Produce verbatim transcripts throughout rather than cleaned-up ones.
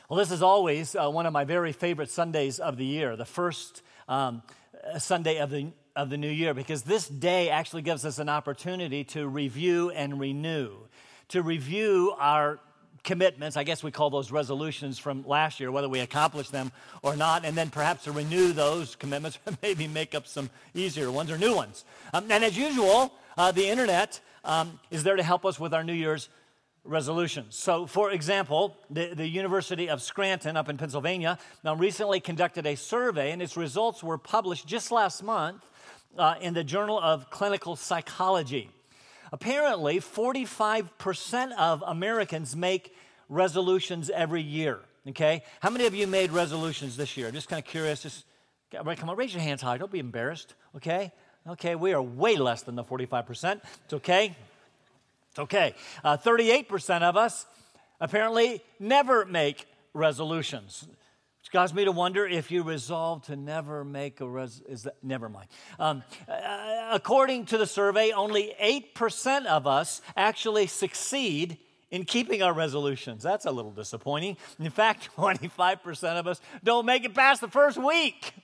Well, this is always uh, one of my very favorite Sundays of the year, the first um, Sunday of the of the new year, because this day actually gives us an opportunity to review and renew, to review our commitments. I guess we call those resolutions from last year, whether we accomplished them or not, and then perhaps to renew those commitments, maybe make up some easier ones or new ones. Um, and as usual, uh, the internet um, is there to help us with our New Year's resolutions. So, for example, the, the University of Scranton up in Pennsylvania now recently conducted a survey, and its results were published just last month uh, in the Journal of Clinical Psychology. Apparently, forty-five percent of Americans make resolutions every year, okay? How many of you made resolutions this year? Just kind of curious. Just come on, raise your hands high. Don't be embarrassed, okay? Okay, we are way less than the forty-five percent. It's okay. It's okay. Uh, thirty-eight percent of us apparently never make resolutions, which caused me to wonder if you resolve to never make a res. Is that never mind? Um, uh, according to the survey, only eight percent of us actually succeed in keeping our resolutions. That's a little disappointing. In fact, twenty-five percent of us don't make it past the first week.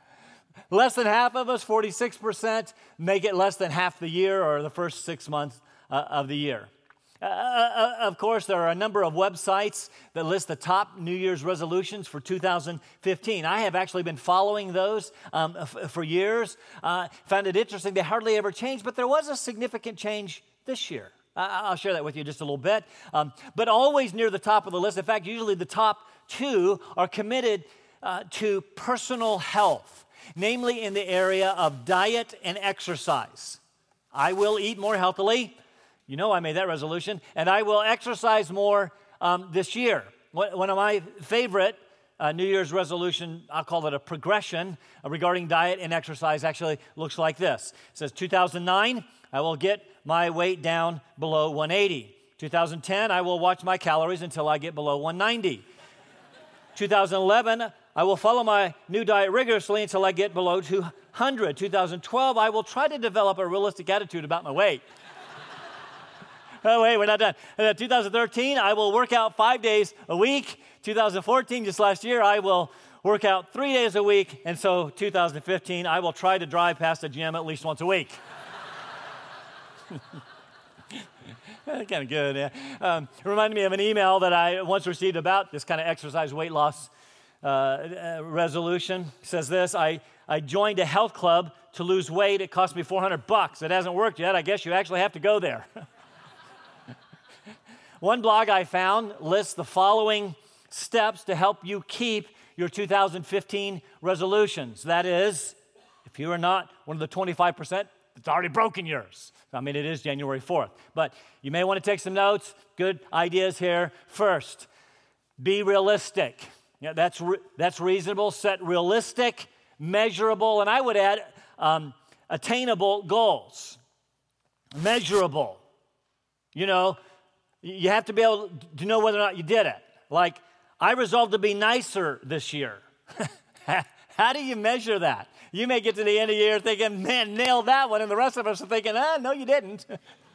Less than half of us, forty-six percent, make it less than half the year or the first six months Uh, of the year. Uh, uh, of course, there are a number of websites that list the top New Year's resolutions for two thousand fifteen. I have actually been following those um, f- for years. Uh, found it interesting. They hardly ever change, but there was a significant change this year. Uh, I'll share that with you just a little bit. Um, but always near the top of the list. In fact, usually the top two are committed uh, to personal health, namely in the area of diet and exercise. I will eat more healthily. You know I made that resolution. And I will exercise more um, this year. One of my favorite uh, New Year's resolution, I'll call it a progression uh, regarding diet and exercise, actually looks like this. It says two thousand nine, I will get my weight down below one eighty. two thousand ten, I will watch my calories until I get below one ninety. two thousand eleven, I will follow my new diet rigorously until I get below two hundred. two thousand twelve, I will try to develop a realistic attitude about my weight. Oh, wait, we're not done. Uh, two thousand thirteen, I will work out five days a week. two thousand fourteen, just last year, I will work out three days a week. And so two thousand fifteen, I will try to drive past the gym at least once a week. Kind of good, yeah. Um, it reminded me of an email that I once received about this kind of exercise weight loss uh, uh, resolution. It says this, I, I joined a health club to lose weight. It cost me four hundred bucks. It hasn't worked yet. I guess you actually have to go there. One blog I found lists the following steps to help you keep your two thousand fifteen resolutions. That is, if you are not one of the twenty-five percent, it's already broken yours. I mean, it is January fourth. But you may want to take some notes. Good ideas here. First, be realistic. Yeah, that's, re- that's reasonable. Set realistic, measurable, and I would add um, attainable goals. Measurable. You know, you have to be able to know whether or not you did it. Like, I resolved to be nicer this year. How do you measure that? You may get to the end of the year thinking, man, nailed that one, and the rest of us are thinking, ah, no, you didn't.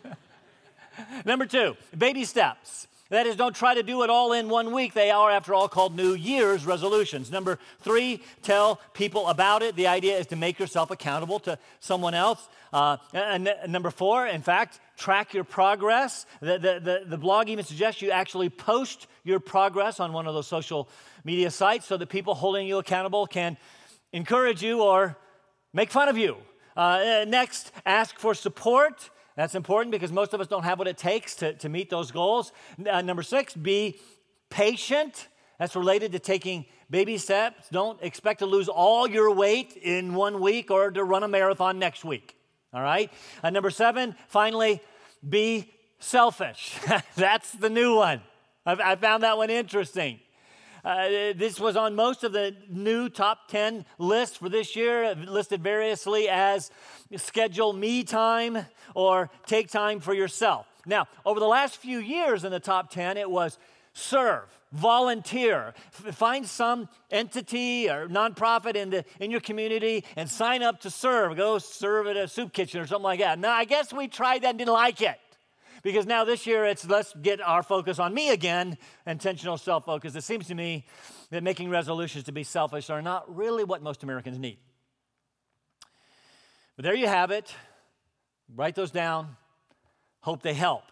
Number two, baby steps. That is, don't try to do it all in one week. They are, after all, called New Year's resolutions. Number three, tell people about it. The idea is to make yourself accountable to someone else. Uh, and, and number four, in fact, track your progress. The, the, the, the blog even suggests you actually post your progress on one of those social media sites so that people holding you accountable can encourage you or make fun of you. Uh, next, ask for support. That's important because most of us don't have what it takes to, to meet those goals. Uh, number six, be patient. That's related to taking baby steps. Don't expect to lose all your weight in one week or to run a marathon next week. All right? Uh, number seven, finally, be selfish. That's the new one. I've, I found that one interesting. Uh, this was on most of the new top ten lists for this year, listed variously as schedule me time or take time for yourself. Now, over the last few years in the top ten, it was serve, volunteer, f- find some entity or nonprofit in the in your community and sign up to serve. Go serve at a soup kitchen or something like that. Now, I guess we tried that and didn't like it. Because now this year it's let's get our focus on me again, intentional self-focus. It seems to me that making resolutions to be selfish are not really what most Americans need. But there you have it. Write those down. Hope they help.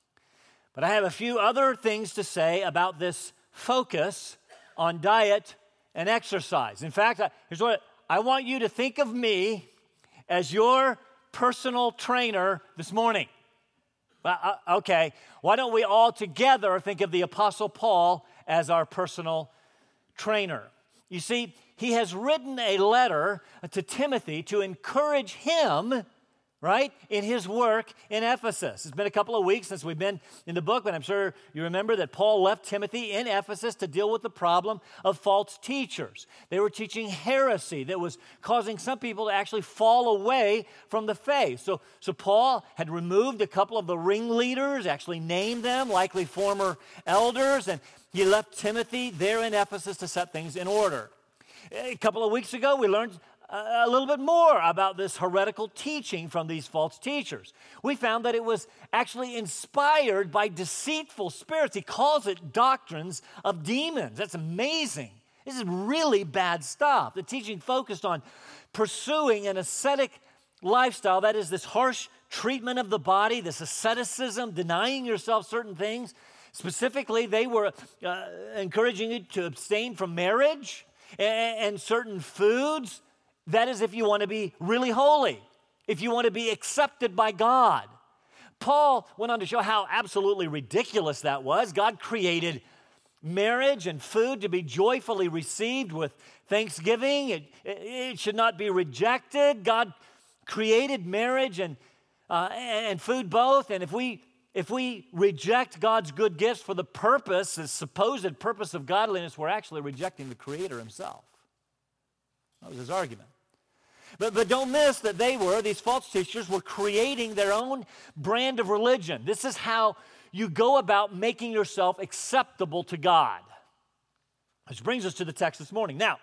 But I have a few other things to say about this focus on diet and exercise. In fact, here's what I want you to think of me as your personal trainer this morning. Uh, okay, why don't we all together think of the Apostle Paul as our personal trainer? You see, he has written a letter to Timothy to encourage him, right, in his work in Ephesus. It's been a couple of weeks since we've been in the book, but I'm sure you remember that Paul left Timothy in Ephesus to deal with the problem of false teachers. They were teaching heresy that was causing some people to actually fall away from the faith. So, so Paul had removed a couple of the ringleaders, actually named them, likely former elders, and he left Timothy there in Ephesus to set things in order. A couple of weeks ago, we learned a little bit more about this heretical teaching from these false teachers. We found that it was actually inspired by deceitful spirits. He calls it doctrines of demons. That's amazing. This is really bad stuff. The teaching focused on pursuing an ascetic lifestyle, that is this harsh treatment of the body, this asceticism, denying yourself certain things. Specifically, they were uh, encouraging you to abstain from marriage and, and certain foods. That is if you want to be really holy, if you want to be accepted by God. Paul went on to show how absolutely ridiculous that was. God created marriage and food to be joyfully received with thanksgiving. It, it should not be rejected. God created marriage and, uh, and food both. And if we, if we reject God's good gifts for the purpose, the supposed purpose of godliness, we're actually rejecting the Creator himself. That was his argument. But, but don't miss that they were, these false teachers, were creating their own brand of religion. This is how you go about making yourself acceptable to God. Which brings us to the text this morning. Now,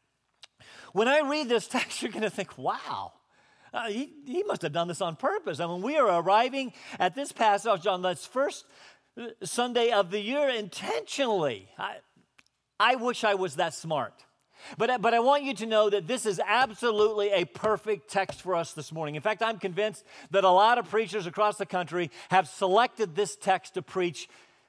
when I read this text, you're going to think, wow, uh, he, he must have done this on purpose. I mean, we are arriving at this passage on this first Sunday of the year intentionally. I, I wish I was that smart. But, but I want you to know that this is absolutely a perfect text for us this morning. In fact, I'm convinced that a lot of preachers across the country have selected this text to preach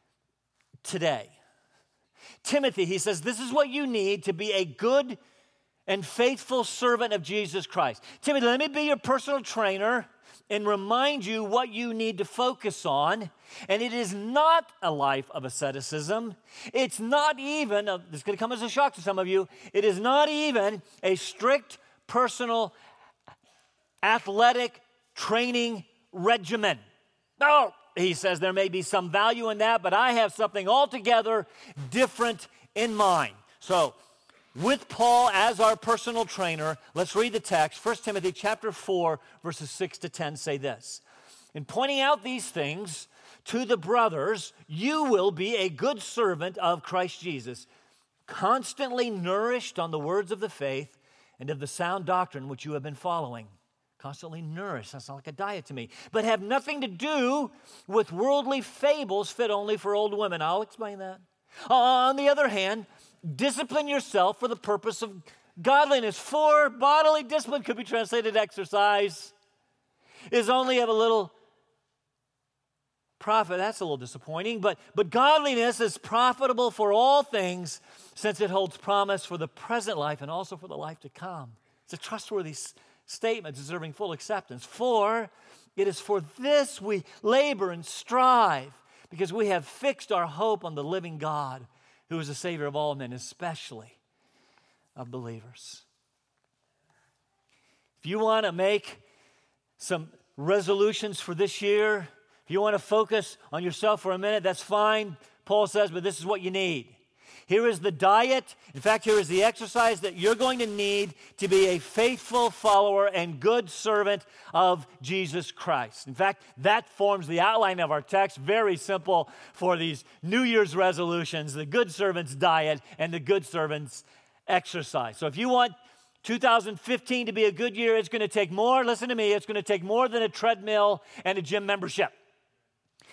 today. Timothy, he says, this is what you need to be a good and faithful servant of Jesus Christ. Timothy, let me be your personal trainer and remind you what you need to focus on. And it is not a life of asceticism. It's not even, uh, this is going to come as a shock to some of you, it is not even a strict personal athletic training regimen. No, he says there may be some value in that, but I have something altogether different in mind. So, with Paul as our personal trainer, let's read the text. First Timothy chapter four, verses six to ten say this. In pointing out these things to the brothers, you will be a good servant of Christ Jesus, constantly nourished on the words of the faith and of the sound doctrine which you have been following. Constantly nourished, that sounds like a diet to me. But have nothing to do with worldly fables fit only for old women. I'll explain that. On the other hand, discipline yourself for the purpose of godliness. For bodily discipline could be translated exercise, is only of a little profit. That's a little disappointing. But, but godliness is profitable for all things, since it holds promise for the present life and also for the life to come. It's a trustworthy s- statement deserving full acceptance. For it is for this we labor and strive, because we have fixed our hope on the living God, who is the Savior of all men, especially of believers. If you want to make some resolutions for this year, if you want to focus on yourself for a minute, that's fine, Paul says, but this is what you need. Here is the diet. In fact, here is the exercise that you're going to need to be a faithful follower and good servant of Jesus Christ. In fact, that forms the outline of our text. Very simple for these New Year's resolutions, the good servant's diet and the good servant's exercise. So if you want two thousand fifteen to be a good year, it's going to take more, listen to me, it's going to take more than a treadmill and a gym membership.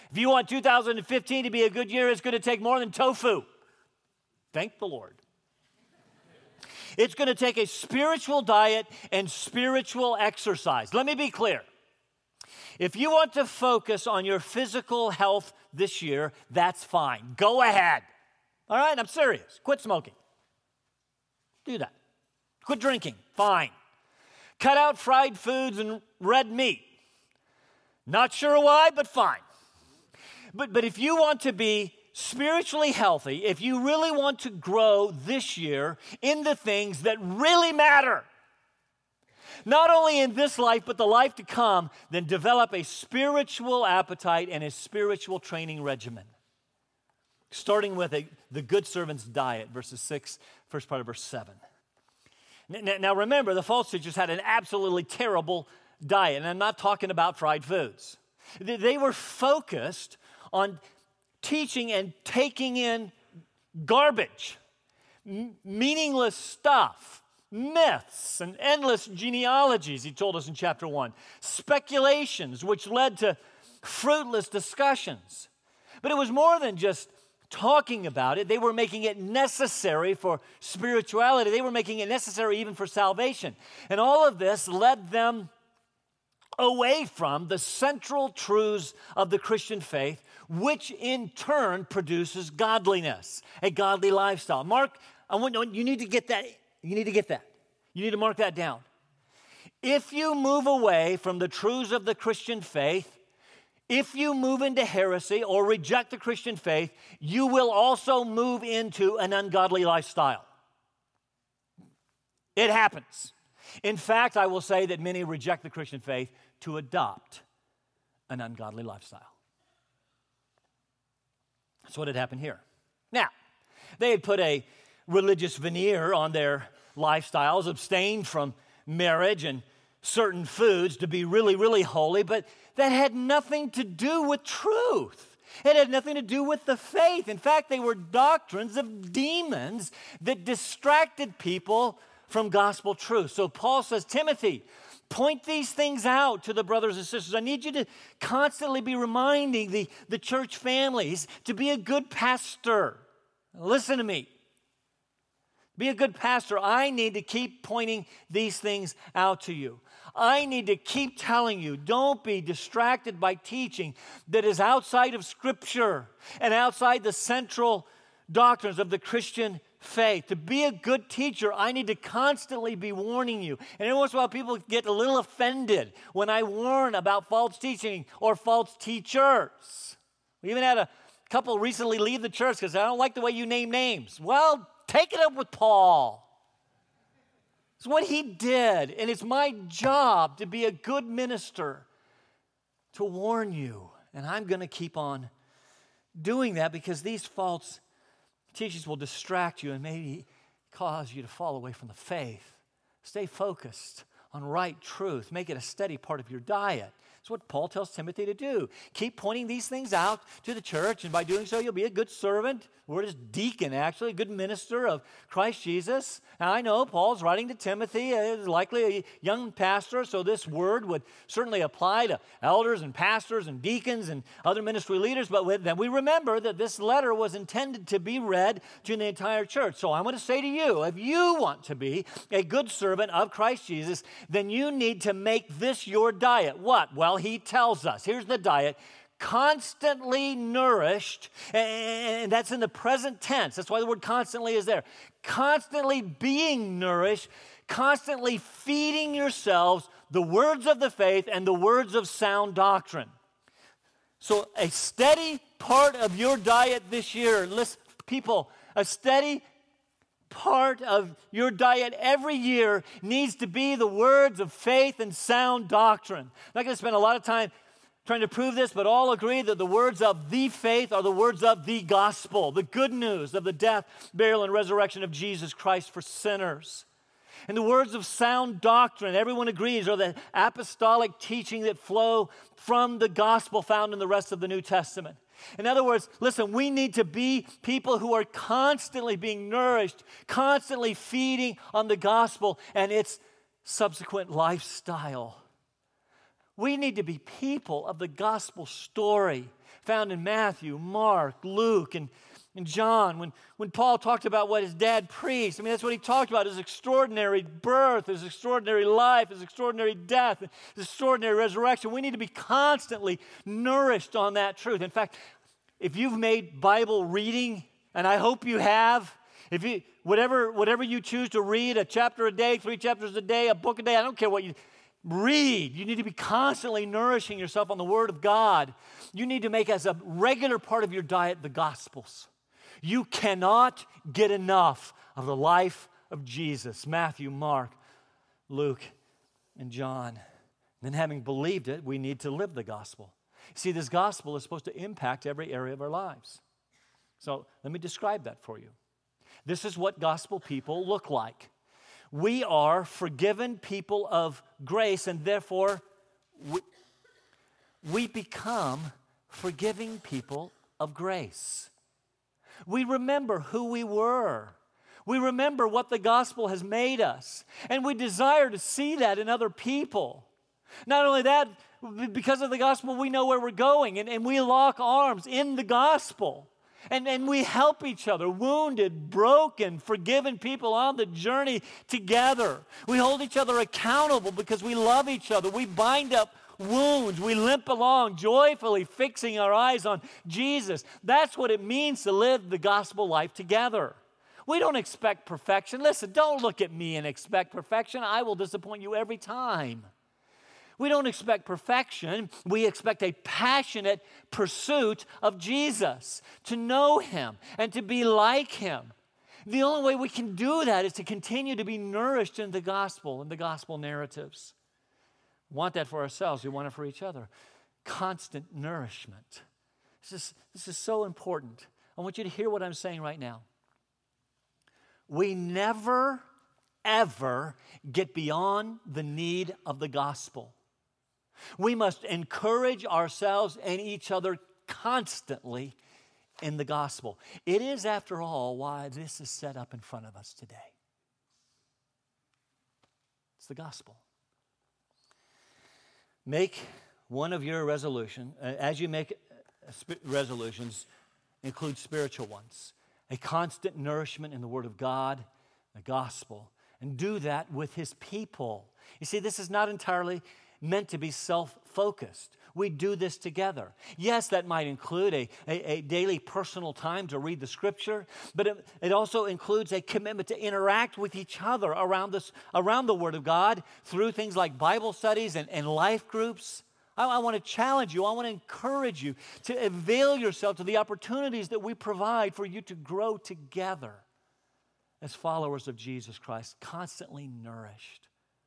If you want two thousand fifteen to be a good year, it's going to take more than tofu. Thank the Lord. It's going to take a spiritual diet and spiritual exercise. Let me be clear. If you want to focus on your physical health this year, that's fine. Go ahead. All right, I'm serious. Quit smoking. Do that. Quit drinking. Fine. Cut out fried foods and red meat. Not sure why, but fine. But, but if you want to be spiritually healthy, if you really want to grow this year in the things that really matter, not only in this life, but the life to come, then develop a spiritual appetite and a spiritual training regimen. Starting with a, the good servant's diet, verses six, first part of verse seven. Now, now remember, the false teachers had an absolutely terrible diet, and I'm not talking about fried foods. They, they were focused on teaching and taking in garbage, m- meaningless stuff, myths and endless genealogies, he told us in chapter one, speculations which led to fruitless discussions. But it was more than just talking about it. They were making it necessary for spirituality. They were making it necessary even for salvation. And all of this led them away from the central truths of the Christian faith, which in turn produces godliness, a godly lifestyle. Mark, I want you need to get that. You need to get that. You need to mark that down. If you move away from the truths of the Christian faith, if you move into heresy or reject the Christian faith, you will also move into an ungodly lifestyle. It happens. In fact, I will say that many reject the Christian faith to adopt an ungodly lifestyle. That's what had happened here. Now, they had put a religious veneer on their lifestyles, abstained from marriage and certain foods to be really, really holy, but that had nothing to do with truth. It had nothing to do with the faith. In fact, they were doctrines of demons that distracted people from gospel truth. So Paul says, Timothy, point these things out to the brothers and sisters. I need you to constantly be reminding the, the church families to be a good pastor. Listen to me. Be a good pastor. I need to keep pointing these things out to you. I need to keep telling you, don't be distracted by teaching that is outside of Scripture and outside the central doctrines of the Christian faith. To be a good teacher, I need to constantly be warning you. And every once in a while, people get a little offended when I warn about false teaching or false teachers. We even had a couple recently leave the church because I don't like the way you name names. Well, take it up with Paul. It's what he did, and it's my job to be a good minister, to warn you. And I'm going to keep on doing that because these false teachings will distract you and maybe cause you to fall away from the faith. Stay focused on right truth. Make it a steady part of your diet. That's what Paul tells Timothy to do. Keep pointing these things out to the church, and by doing so, you'll be a good servant. The word is deacon, actually, a good minister of Christ Jesus. Now, I know Paul's writing to Timothy, uh, likely a young pastor, so this word would certainly apply to elders and pastors and deacons and other ministry leaders, but then we remember that this letter was intended to be read to the entire church. So I'm going to say to you, if you want to be a good servant of Christ Jesus, then you need to make this your diet. What? Well, he tells us, here's the diet, constantly nourished, and that's in the present tense. That's why the word constantly is there. Constantly being nourished, constantly feeding yourselves the words of the faith and the words of sound doctrine. So a steady part of your diet this year, listen, people, a steady part of your diet every year needs to be the words of faith and sound doctrine. I'm not going to spend a lot of time trying to prove this, but all agree that the words of the faith are the words of the gospel, the good news of the death, burial, and resurrection of Jesus Christ for sinners. And the words of sound doctrine, everyone agrees, are the apostolic teaching that flow from the gospel found in the rest of the New Testament. In other words, listen, we need to be people who are constantly being nourished, constantly feeding on the gospel and its subsequent lifestyle. We need to be people of the gospel story, found in Matthew, Mark, Luke, and, and John. When, when Paul talked about what his dad preached, I mean, that's what he talked about, his extraordinary birth, his extraordinary life, his extraordinary death, his extraordinary resurrection. We need to be constantly nourished on that truth. In fact, if you've made Bible reading, and I hope you have, if you whatever whatever you choose to read, a chapter a day, three chapters a day, a book a day, I don't care what you read. You need to be constantly nourishing yourself on the Word of God. You need to make as a regular part of your diet the Gospels. You cannot get enough of the life of Jesus. Matthew, Mark, Luke, and John. And then having believed it, we need to live the gospel. See, this gospel is supposed to impact every area of our lives. So let me describe that for you. This is what gospel people look like. We are forgiven people of grace, and therefore we, we become forgiving people of grace. We remember who we were. We remember what the gospel has made us, and we desire to see that in other people. Not only that, because of the gospel, we know where we're going, and, and we lock arms in the gospel. And, and we help each other, wounded, broken, forgiven people on the journey together. We hold each other accountable because we love each other. We bind up wounds. We limp along joyfully, fixing our eyes on Jesus. That's what it means to live the gospel life together. We don't expect perfection. Listen, don't look at me and expect perfection. I will disappoint you every time. We don't expect perfection. We expect a passionate pursuit of Jesus, to know Him and to be like Him. The only way we can do that is to continue to be nourished in the gospel and the gospel narratives. We want that for ourselves. We want it for each other. Constant nourishment. This is, this is so important. I want you to hear what I'm saying right now. We never, ever get beyond the need of the gospel. We must encourage ourselves and each other constantly in the gospel. It is, after all, why this is set up in front of us today. It's the gospel. Make one of your resolutions, as you make resolutions, include spiritual ones. A constant nourishment in the Word of God, the gospel. And do that with His people. You see, this is not entirely meant to be self-focused. We do this together. Yes, that might include a, a, a daily personal time to read the Scripture, but it, it also includes a commitment to interact with each other around, this, around the Word of God through things like Bible studies and, and life groups. I, I want to challenge you. I want to encourage you to avail yourself to the opportunities that we provide for you to grow together as followers of Jesus Christ, constantly nourished.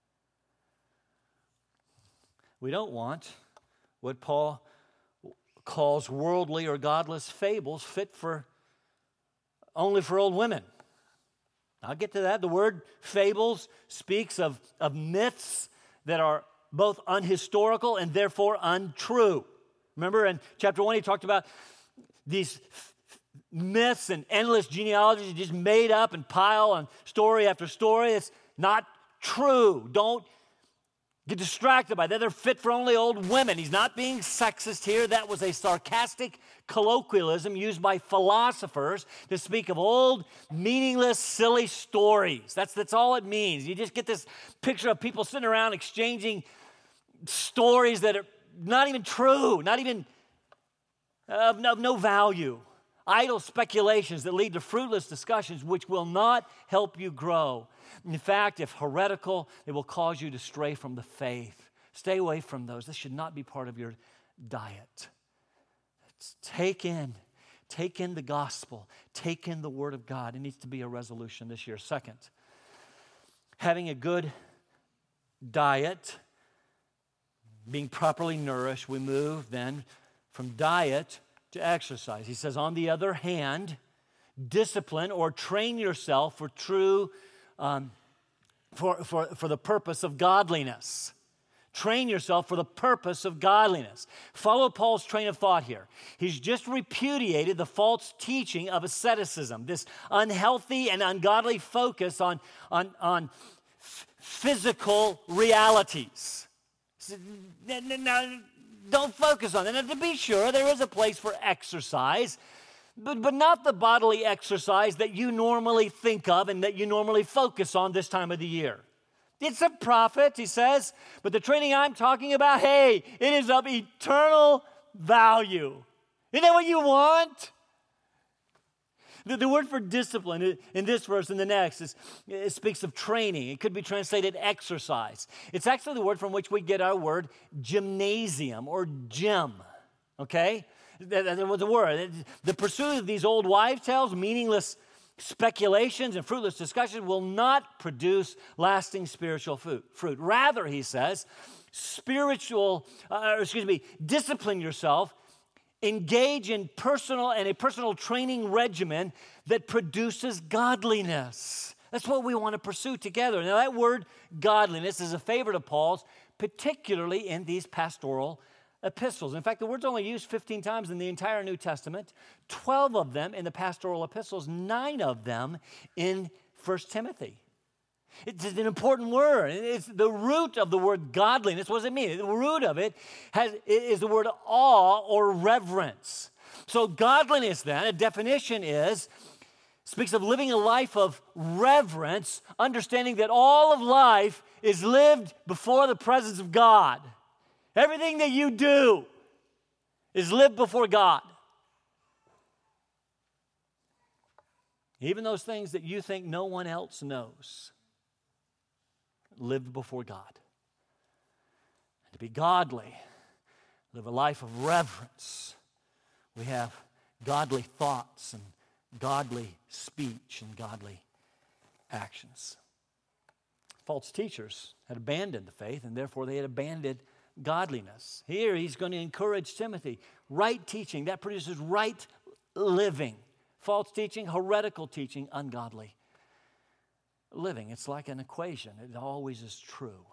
We don't want what Paul calls worldly or godless fables fit for only for old women. I'll get to that. The word fables speaks of, of myths that are both unhistorical and therefore untrue. Remember in chapter one, he talked about these f- myths and endless genealogies just made up and pile on story after story. It's not true. Don't get distracted by that. They're fit for only old women. He's not being sexist here. That was a sarcastic colloquialism used by philosophers to speak of old, meaningless, silly stories. That's, that's all it means. You just get this picture of people sitting around exchanging stories that are not even true, not even of, of no value. Idle speculations that lead to fruitless discussions which will not help you grow. In fact, if heretical, it will cause you to stray from the faith. Stay away from those. This should not be part of your diet. It's take in, take in the gospel. Take in the Word of God. It needs to be a resolution this year. Second, having a good diet, being properly nourished, we move then from diet to exercise. He says, on the other hand, discipline or train yourself for true, um, for, for, for the purpose of godliness. Train yourself for the purpose of godliness. Follow Paul's train of thought here. He's just repudiated the false teaching of asceticism, this unhealthy and ungodly focus on, on, on f- physical realities. Now, don't focus on it. And to be sure, there is a place for exercise, but, but not the bodily exercise that you normally think of and that you normally focus on this time of the year. It's a profit, he says, but the training I'm talking about, hey, it is of eternal value. Isn't that what you want? The, the word for discipline in this verse and the next is, it speaks of training. It could be translated exercise. It's actually the word from which we get our word gymnasium or gym, okay? That, that was a word. The pursuit of these old wives' tales, meaningless speculations and fruitless discussions will not produce lasting spiritual fruit. fruit. Rather, he says, spiritual, uh, excuse me, discipline yourself. Engage in personal and a personal training regimen that produces godliness. That's what we want to pursue together. Now, that word godliness is a favorite of Paul's, particularly in these pastoral epistles. In fact, the word's only used fifteen times in the entire New Testament, twelve of them in the pastoral epistles, nine of them in First Timothy. It's an important word. It's the root of the word godliness. What does it mean? The root of it has, is the word awe or reverence. So godliness then, a definition is, speaks of living a life of reverence, understanding that all of life is lived before the presence of God. Everything that you do is lived before God. Even those things that you think no one else knows. Lived before God. And to be godly, live a life of reverence. We have godly thoughts and godly speech and godly actions. False teachers had abandoned the faith, and therefore they had abandoned godliness. Here he's going to encourage Timothy. Right teaching, that produces right living. False teaching, heretical teaching, ungodly living. It's like an equation. It always is true.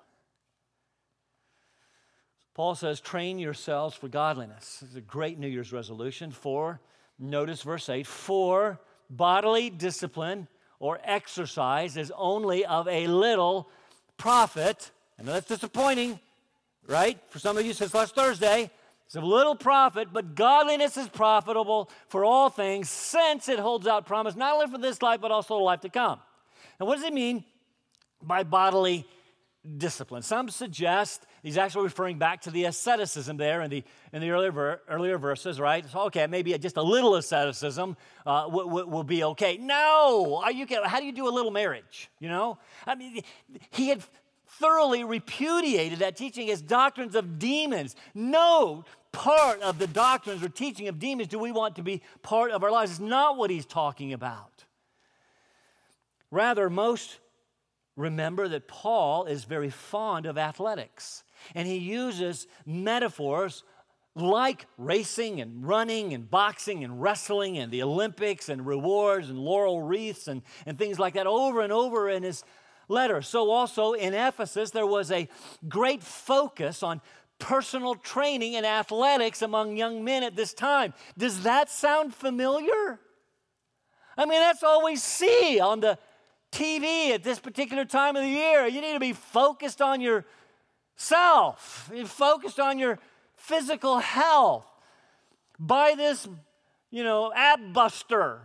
Paul says, train yourselves for godliness. It's a great New Year's resolution. For, notice verse eight, for bodily discipline or exercise is only of a little profit. I know that's disappointing, right? For some of you since last Thursday, it's of little profit, but godliness is profitable for all things, since it holds out promise not only for this life, but also the life to come. Now, what does it mean by bodily discipline? Some suggest he's actually referring back to the asceticism there in the in the earlier ver, earlier verses, right? So, okay, maybe just a little asceticism uh, w- w- will be okay. No, are you? How do you do a little marriage? You know, I mean, he had thoroughly repudiated that teaching as doctrines of demons. No part of the doctrines or teaching of demons do we want to be part of our lives. It's not what he's talking about. Rather, most remember that Paul is very fond of athletics, and he uses metaphors like racing and running and boxing and wrestling and the Olympics and rewards and laurel wreaths and, and things like that over and over in his letter. So also in Ephesus, there was a great focus on personal training and athletics among young men at this time. Does that sound familiar? I mean, that's all we see on the T V at this particular time of the year. You need to be focused on yourself. You're focused on your physical health. Buy this, you know, ab buster.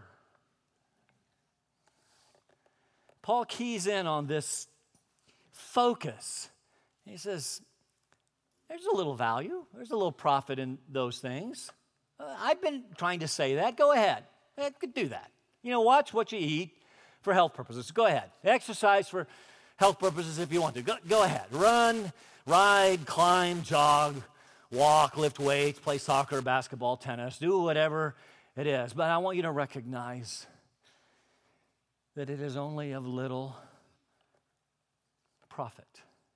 Paul keys in on this focus. He says, there's a little value. There's a little profit in those things. Uh, I've been trying to say that. Go ahead. I could do that. You know, watch what you eat for health purposes. Go ahead. Exercise for health purposes if you want to. Go, go ahead. Run, ride, climb, jog, walk, lift weights, play soccer, basketball, tennis, do whatever it is. But I want you to recognize that it is only of little profit.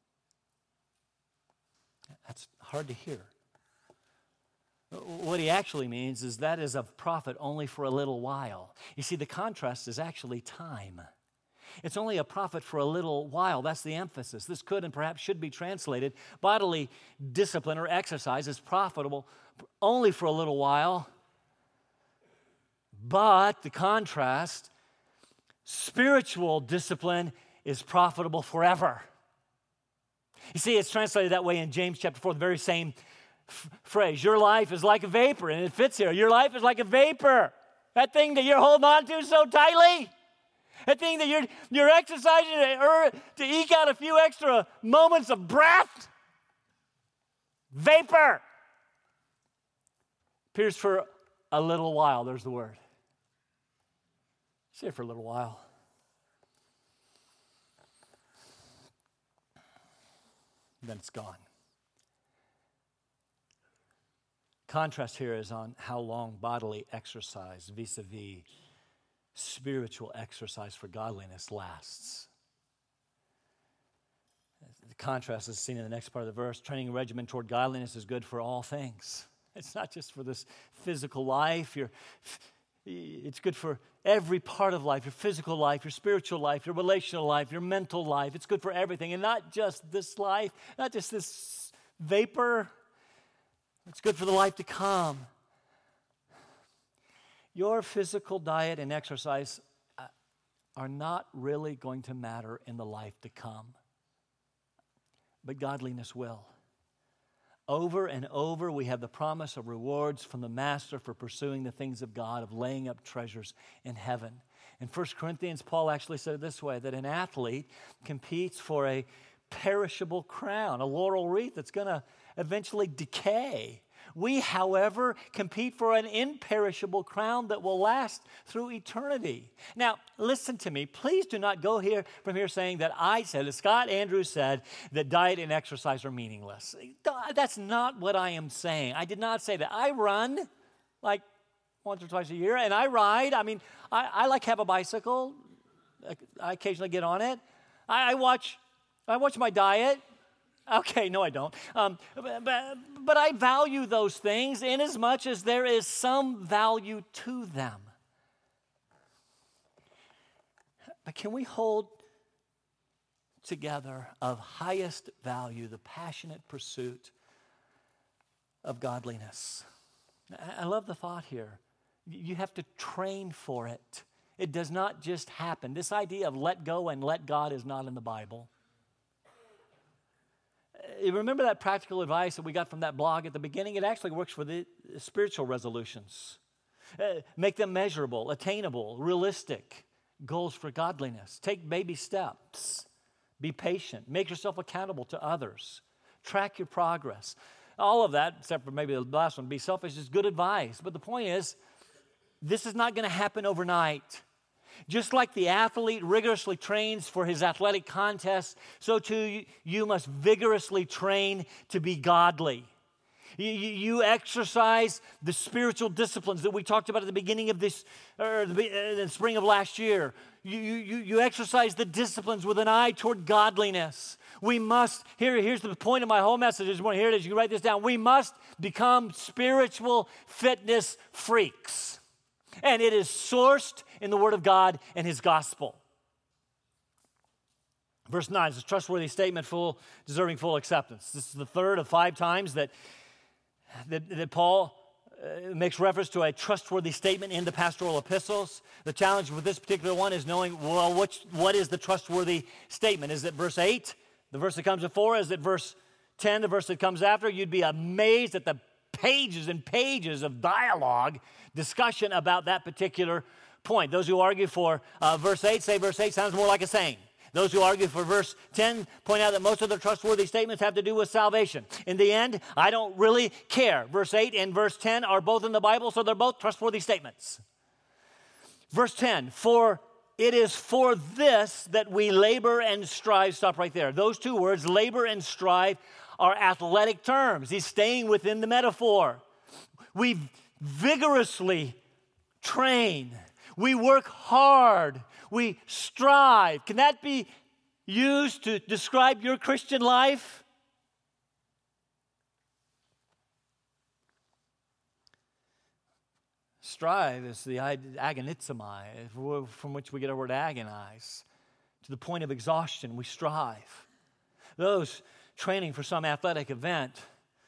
That's hard to hear. What he actually means is that is of profit only for a little while. You see, the contrast is actually time. It's only a profit for a little while. That's the emphasis. This could and perhaps should be translated, bodily discipline or exercise is profitable only for a little while. But the contrast, spiritual discipline is profitable forever. You see, it's translated that way in James chapter four, the very same f- phrase. Your life is like a vapor, and it fits here. Your life is like a vapor. That thing that you're holding on to so tightly, that thing that you're, you're exercising to, er, to eke out a few extra moments of breath, vapor. Appears for a little while. There's the word. Say it for a little while. Then it's gone. Contrast here is on how long bodily exercise vis-a-vis spiritual exercise for godliness lasts. The contrast is seen in the next part of the verse. Training a regimen toward godliness is good for all things. It's not just for this physical life. You're, it's good for every part of life, your physical life, your spiritual life, your relational life, your mental life. It's good for everything, and not just this life, not just this vapor. It's good for the life to come. Your physical diet and exercise are not really going to matter in the life to come, but godliness will. Over and over, we have the promise of rewards from the Master for pursuing the things of God, of laying up treasures in heaven. In First Corinthians, Paul actually said it this way, that an athlete competes for a perishable crown, a laurel wreath that's going to eventually decay. We, however, compete for an imperishable crown that will last through eternity. Now, listen to me. Please do not go here from here saying that I said, that Scott Andrews said, that diet and exercise are meaningless. That's not what I am saying. I did not say that. I run like once or twice a year, and I ride. I mean, I, I like have a bicycle. I occasionally get on it. I, I watch. I watch my diet. Okay, no, I don't. Um, but, but, but I value those things inasmuch as there is some value to them. But can we hold together of highest value the passionate pursuit of godliness? I love the thought here. You have to train for it. It does not just happen. This idea of let go and let God is not in the Bible. You remember that practical advice that we got from that blog at the beginning? It actually works for the spiritual resolutions. Uh, make them measurable, attainable, realistic goals for godliness. Take baby steps. Be patient. Make yourself accountable to others. Track your progress. All of that, except for maybe the last one, be selfish, is good advice. But the point is, this is not going to happen overnight. Just like the athlete rigorously trains for his athletic contests, so too you must vigorously train to be godly. You, you exercise the spiritual disciplines that we talked about at the beginning of this, or the, uh, the spring of last year. You, you, you exercise the disciplines with an eye toward godliness. We must, here, here's the point of my whole message. Here it is, you can write this down. We must become spiritual fitness freaks. And it is sourced in the Word of God and His gospel. Verse nine is a trustworthy statement, full, deserving full acceptance. This is the third of five times that, that, that Paul uh, makes reference to a trustworthy statement in the pastoral epistles. The challenge with this particular one is knowing, well, which, what is the trustworthy statement? Is it verse eight, the verse that comes before? Is it verse ten, the verse that comes after? You'd be amazed at the pages and pages of dialogue, discussion about that particular point. Those who argue for uh, verse eight say verse eight sounds more like a saying. Those who argue for verse ten point out that most of the trustworthy statements have to do with salvation. In the end, I don't really care. Verse eight and verse ten are both in the Bible, so they're both trustworthy statements. Verse ten, for it is for this that we labor and strive. Stop right there. Those two words, labor and strive, are athletic terms. He's staying within the metaphor. We vigorously train. We work hard. We strive. Can that be used to describe your Christian life? Strive is the agonizomai, from which we get our word agonize. To the point of exhaustion, we strive. Those training for some athletic event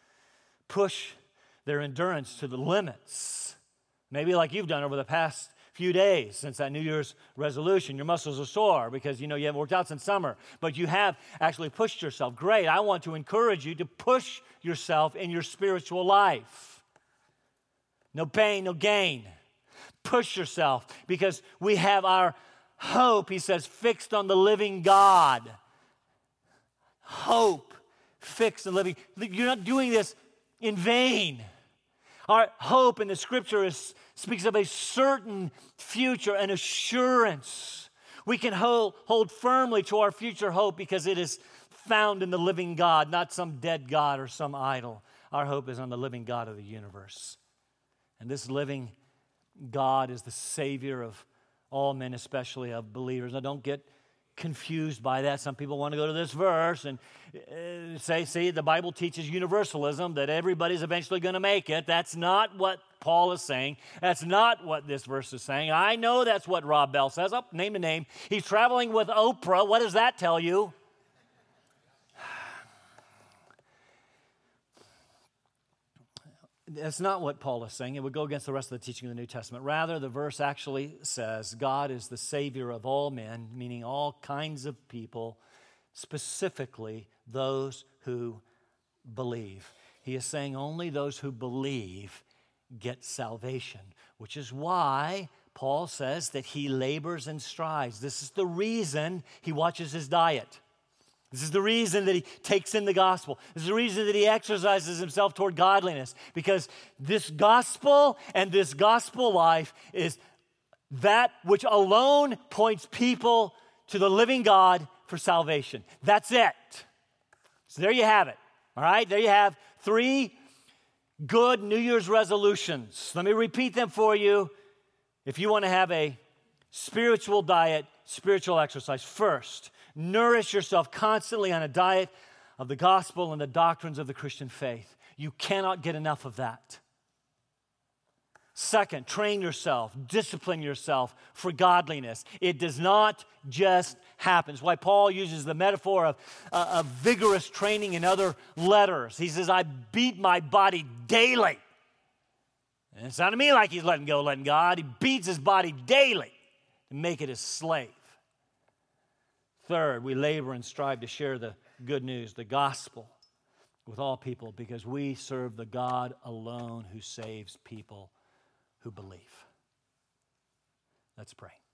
push their endurance to the limits. Maybe like you've done over the past few days since that New Year's resolution. Your muscles are sore because, you know, you haven't worked out since summer, but you have actually pushed yourself. Great. I want to encourage you to push yourself in your spiritual life. No pain, no gain. Push yourself because we have our hope, he says, fixed on the living God. Hope fixed on living. You're not doing this in vain. Our hope in the Scripture is, speaks of a certain future, an assurance. We can hold, hold firmly to our future hope because it is found in the living God, not some dead God or some idol. Our hope is on the living God of the universe. And this living God is the Savior of all men, especially of believers. Now, don't get confused by that. Some people want to go to this verse and uh, say, see, the Bible teaches universalism, that everybody's eventually going to make it. That's not what Paul is saying. That's not what this verse is saying. I know that's what Rob Bell says. Oh, name a name. He's traveling with Oprah. What does that tell you? That's not what Paul is saying. It would go against the rest of the teaching of the New Testament. Rather, the verse actually says God is the Savior of all men, meaning all kinds of people, specifically those who believe. He is saying only those who believe get salvation, which is why Paul says that he labors and strives. This is the reason he watches his diet. This is the reason that he takes in the gospel. This is the reason that he exercises himself toward godliness, because this gospel and this gospel life is that which alone points people to the living God for salvation. That's it. So there you have it. All right, there you have three good New Year's resolutions. Let me repeat them for you if you want to have a spiritual diet, spiritual exercise. First, nourish yourself constantly on a diet of the gospel and the doctrines of the Christian faith. You cannot get enough of that. Second, train yourself, discipline yourself for godliness. It does not just happen. It's why Paul uses the metaphor of, uh, of vigorous training in other letters. He says, I beat my body daily. And it sounded to me like he's letting go, letting God. He beats his body daily to make it his slave. Third, we labor and strive to share the good news, the gospel, with all people because we serve the God alone who saves people who believe. Let's pray.